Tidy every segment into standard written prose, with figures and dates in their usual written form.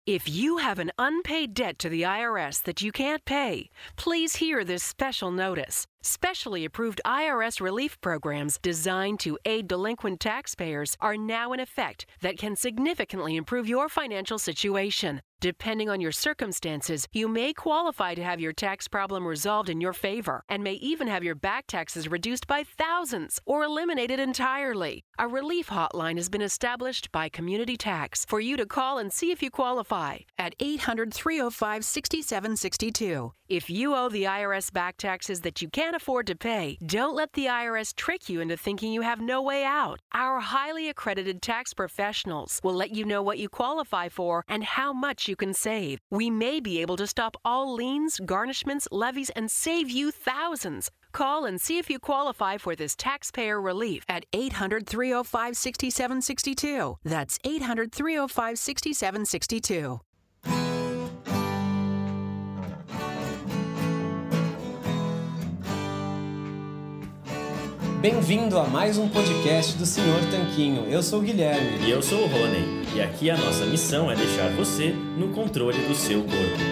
If you have an unpaid debt to the IRS that you can't pay, please hear this special notice. Specially approved IRS relief programs designed to aid delinquent taxpayers are now in effect that can significantly improve your financial situation. Depending on your circumstances, you may qualify to have your tax problem resolved in your favor and may even have your back taxes reduced by thousands or eliminated entirely. A relief hotline has been established by Community Tax for you to call and see if you qualify at 800-305-6762. If you owe the IRS back taxes that you can't afford to pay, don't let the IRS trick you into thinking you have no way out. Our highly accredited tax professionals will let you know what you qualify for and how much you can save. We may be able to stop all liens, garnishments, levies, and save you thousands. Call and see if you qualify for this taxpayer relief at 800-305-6762. That's 800-305-6762. Bem-vindo a mais um podcast do Senhor Tanquinho. Eu sou o Guilherme. E eu sou o Rony. E aqui a nossa missão é deixar você no controle do seu corpo.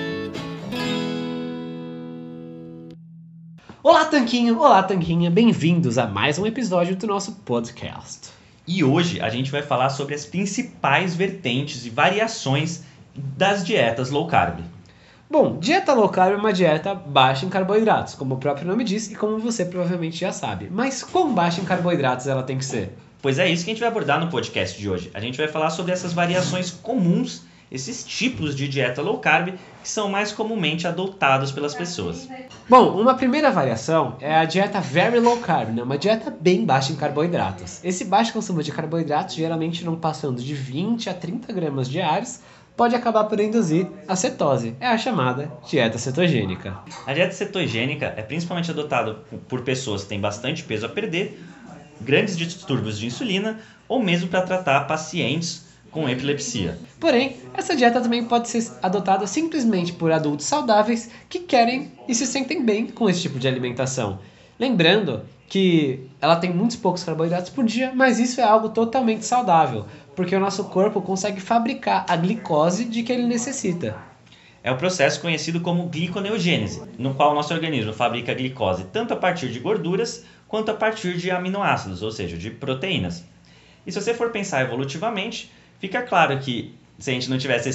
Olá, Tanquinho! Olá, Tanquinha! Bem-vindos a mais um episódio do nosso podcast. E hoje a gente vai falar sobre as principais vertentes e variações das dietas low carb. Bom, dieta low carb é uma dieta baixa em carboidratos, como o próprio nome diz e como você provavelmente já sabe. Mas quão baixa em carboidratos ela tem que ser? Pois é isso que a gente vai abordar no podcast de hoje. A gente vai falar sobre essas variações comuns, esses tipos de dieta low carb que são mais comumente adotados pelas pessoas. Bom, uma primeira variação é a dieta very low carb, né? Uma dieta bem baixa em carboidratos. Esse baixo consumo de carboidratos, geralmente não passando de 20 a 30 gramas diários, pode acabar por induzir a cetose. É a chamada dieta cetogênica. A dieta cetogênica é principalmente adotada por pessoas que têm bastante peso a perder, grandes distúrbios de insulina ou mesmo para tratar pacientes com epilepsia. Porém, essa dieta também pode ser adotada simplesmente por adultos saudáveis que querem e se sentem bem com esse tipo de alimentação. Lembrando que ela tem muitos poucos carboidratos por dia, mas isso é algo totalmente saudável, porque o nosso corpo consegue fabricar a glicose de que ele necessita. É o processo conhecido como gliconeogênese, no qual o nosso organismo fabrica a glicose tanto a partir de gorduras quanto a partir de aminoácidos, ou seja, de proteínas. E se você for pensar evolutivamente, fica claro que se a gente não tivesse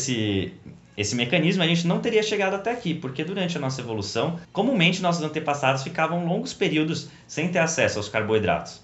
esse mecanismo, a gente não teria chegado até aqui, porque durante a nossa evolução, comumente nossos antepassados ficavam longos períodos sem ter acesso aos carboidratos.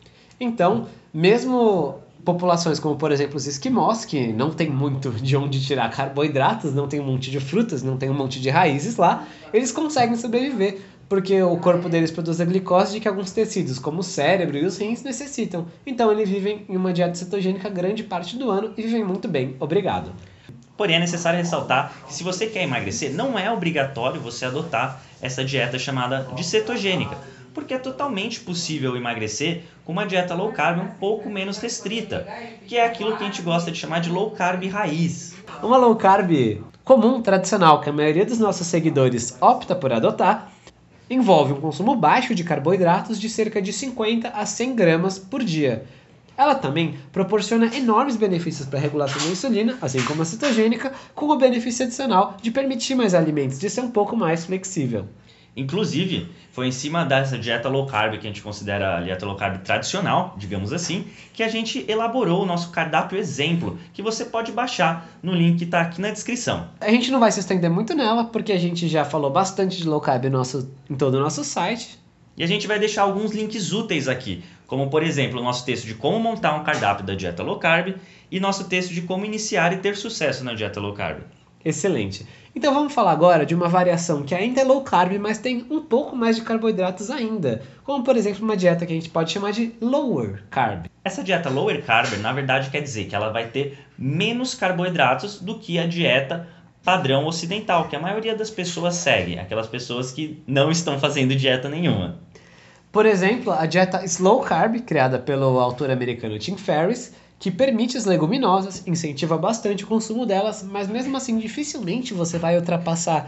Então, mesmo populações como, por exemplo, os esquimós, que não tem muito de onde tirar carboidratos, não tem um monte de frutas, não tem um monte de raízes lá, eles conseguem sobreviver, porque o corpo deles produz a glicose de que alguns tecidos, como o cérebro e os rins, necessitam. Então, eles vivem em uma dieta cetogênica grande parte do ano e vivem muito bem, obrigado. Porém, é necessário ressaltar que se você quer emagrecer, não é obrigatório você adotar essa dieta chamada de cetogênica, porque é totalmente possível emagrecer com uma dieta low carb um pouco menos restrita, que é aquilo que a gente gosta de chamar de low carb raiz. Uma low carb comum, tradicional, que a maioria dos nossos seguidores opta por adotar, envolve um consumo baixo de carboidratos de cerca de 50 a 100 gramas por dia. Ela também proporciona enormes benefícios para a regulação da insulina, assim como a cetogênica, com o benefício adicional de permitir mais alimentos, de ser um pouco mais flexível. Inclusive, foi em cima dessa dieta low carb, que a gente considera a dieta low carb tradicional, digamos assim, que a gente elaborou o nosso cardápio exemplo, que você pode baixar no link que está aqui na descrição. A gente não vai se estender muito nela, porque a gente já falou bastante de low carb em todo o nosso site. E a gente vai deixar alguns links úteis aqui, como por exemplo o nosso texto de como montar um cardápio da dieta low carb e nosso texto de como iniciar e ter sucesso na dieta low carb. Excelente. Então vamos falar agora de uma variação que ainda é low carb, mas tem um pouco mais de carboidratos ainda, como por exemplo uma dieta que a gente pode chamar de lower carb. Essa dieta lower carb, na verdade, quer dizer que ela vai ter menos carboidratos do que a dieta padrão ocidental, que a maioria das pessoas segue, aquelas pessoas que não estão fazendo dieta nenhuma. Por exemplo, a dieta slow carb, criada pelo autor americano Tim Ferriss, que permite as leguminosas, incentiva bastante o consumo delas, mas mesmo assim dificilmente você vai ultrapassar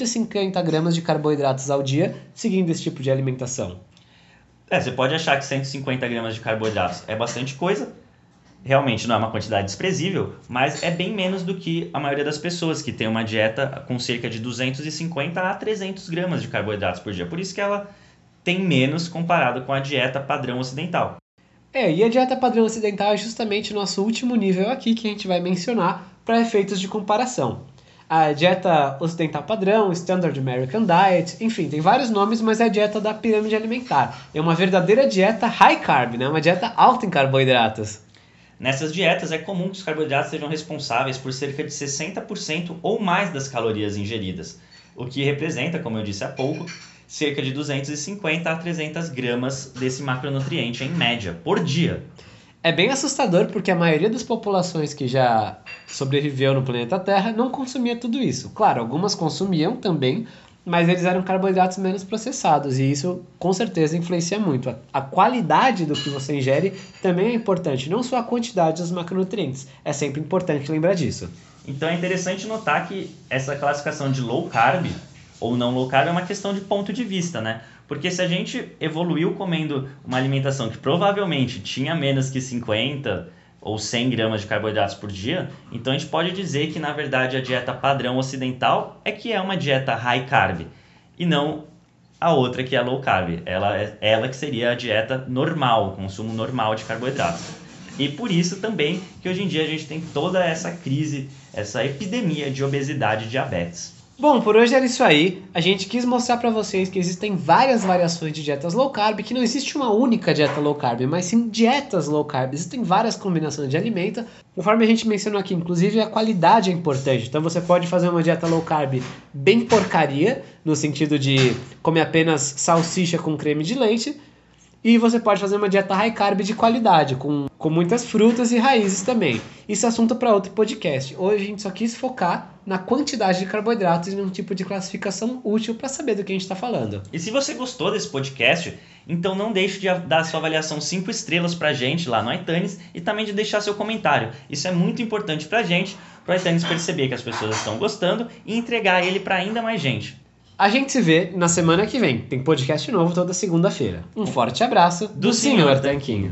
150 gramas de carboidratos ao dia seguindo esse tipo de alimentação. Você pode achar que 150 gramas de carboidratos é bastante coisa, Realmente não é uma quantidade desprezível, mas é bem menos do que a maioria das pessoas que tem uma dieta com cerca de 250 a 300 gramas de carboidratos por dia. Por isso que ela tem menos comparado com a dieta padrão ocidental. E a dieta padrão ocidental é justamente o nosso último nível aqui que a gente vai mencionar para efeitos de comparação. A dieta ocidental padrão, Standard American Diet, enfim, tem vários nomes, mas é a dieta da pirâmide alimentar. É uma verdadeira dieta high carb, né? Uma dieta alta em carboidratos. Nessas dietas é comum que os carboidratos sejam responsáveis por cerca de 60% ou mais das calorias ingeridas, o que representa, como eu disse há pouco, cerca de 250 a 300 gramas desse macronutriente em média, por dia. É bem assustador porque a maioria das populações que já sobreviveu no planeta Terra não consumia tudo isso. Claro, algumas consumiam também, mas eles eram carboidratos menos processados e isso com certeza influencia muito. A qualidade do que você ingere também é importante, não só a quantidade dos macronutrientes. É sempre importante lembrar disso. Então é interessante notar que essa classificação de low carb ou não low carb é uma questão de ponto de vista, né? Porque se a gente evoluiu comendo uma alimentação que provavelmente tinha menos que 50 ou 100 gramas de carboidratos por dia, então a gente pode dizer que na verdade a dieta padrão ocidental é que é uma dieta high carb e não a outra que é low carb. Ela que seria a dieta normal, o consumo normal de carboidratos. E por isso também que hoje em dia a gente tem toda essa crise, essa epidemia de obesidade e diabetes. Bom, por hoje era isso aí. A gente quis mostrar para vocês que existem várias variações de dietas low carb, que não existe uma única dieta low carb, mas sim dietas low carb. Existem várias combinações de alimento. Conforme a gente mencionou aqui, inclusive a qualidade é importante. Então você pode fazer uma dieta low carb bem porcaria, no sentido de comer apenas salsicha com creme de leite. E você pode fazer uma dieta high carb de qualidade, com muitas frutas e raízes também. Isso é assunto para outro podcast. Hoje a gente só quis focar na quantidade de carboidratos e num tipo de classificação útil para saber do que a gente está falando. E se você gostou desse podcast, então não deixe de dar sua avaliação 5 estrelas para a gente lá no iTunes e também de deixar seu comentário. Isso é muito importante para a gente, para o iTunes perceber que as pessoas estão gostando e entregar ele para ainda mais gente. A gente se vê na semana que vem. Tem podcast novo toda segunda-feira. Um forte abraço do Sr. Tanquinho.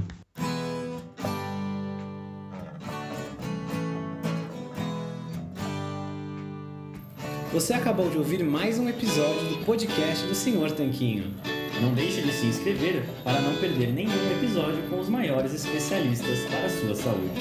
Você acabou de ouvir mais um episódio do podcast do Sr. Tanquinho. Não deixe de se inscrever para não perder nenhum episódio com os maiores especialistas para a sua saúde.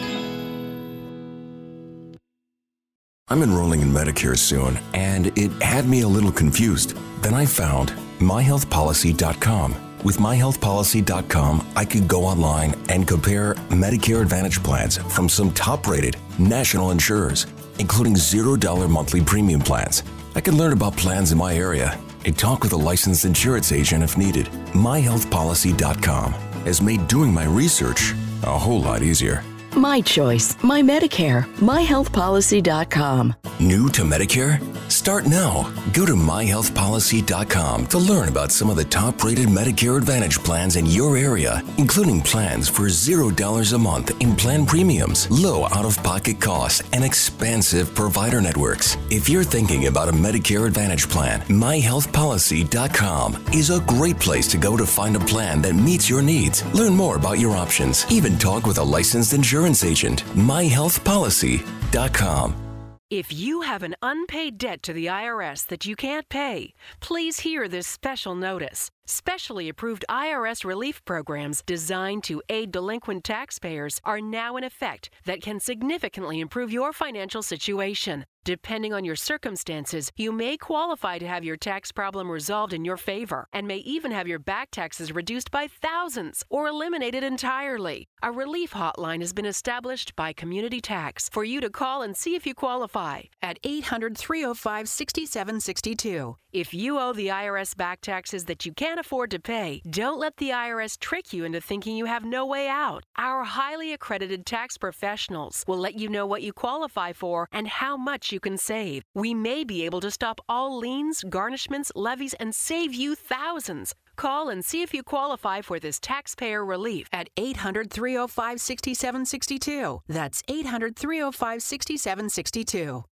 I'm enrolling in Medicare soon, and it had me a little confused. Then I found myhealthpolicy.com. With myhealthpolicy.com, I could go online and compare Medicare Advantage plans from some top-rated national insurers, including $0 monthly premium plans. I could learn about plans in my area and talk with a licensed insurance agent if needed. myhealthpolicy.com has made doing my research a whole lot easier. My choice, my Medicare, myhealthpolicy.com. New to Medicare? Start now. Go to myhealthpolicy.com to learn about some of the top-rated Medicare Advantage plans in your area, including plans for $0 a month in plan premiums, low out-of-pocket costs, and expansive provider networks. If you're thinking about a Medicare Advantage plan, myhealthpolicy.com is a great place to go to find a plan that meets your needs. Learn more about your options. Even talk with a licensed insurance agent. myhealthpolicy.com. If you have an unpaid debt to the IRS that you can't pay, please hear this special notice. Specially approved IRS relief programs designed to aid delinquent taxpayers are now in effect that can significantly improve your financial situation. Depending on your circumstances, you may qualify to have your tax problem resolved in your favor and may even have your back taxes reduced by thousands or eliminated entirely. A relief hotline has been established by Community Tax for you to call and see if you qualify at 800-305-6762. If you owe the IRS back taxes that you can't afford to pay, don't let the IRS trick you into thinking you have no way out. Our highly accredited tax professionals will let you know what you qualify for and how much you can save. We may be able to stop all liens, garnishments, levies, and save you thousands. Call and see if you qualify for this taxpayer relief at 800-305-6762. That's 800-305-6762.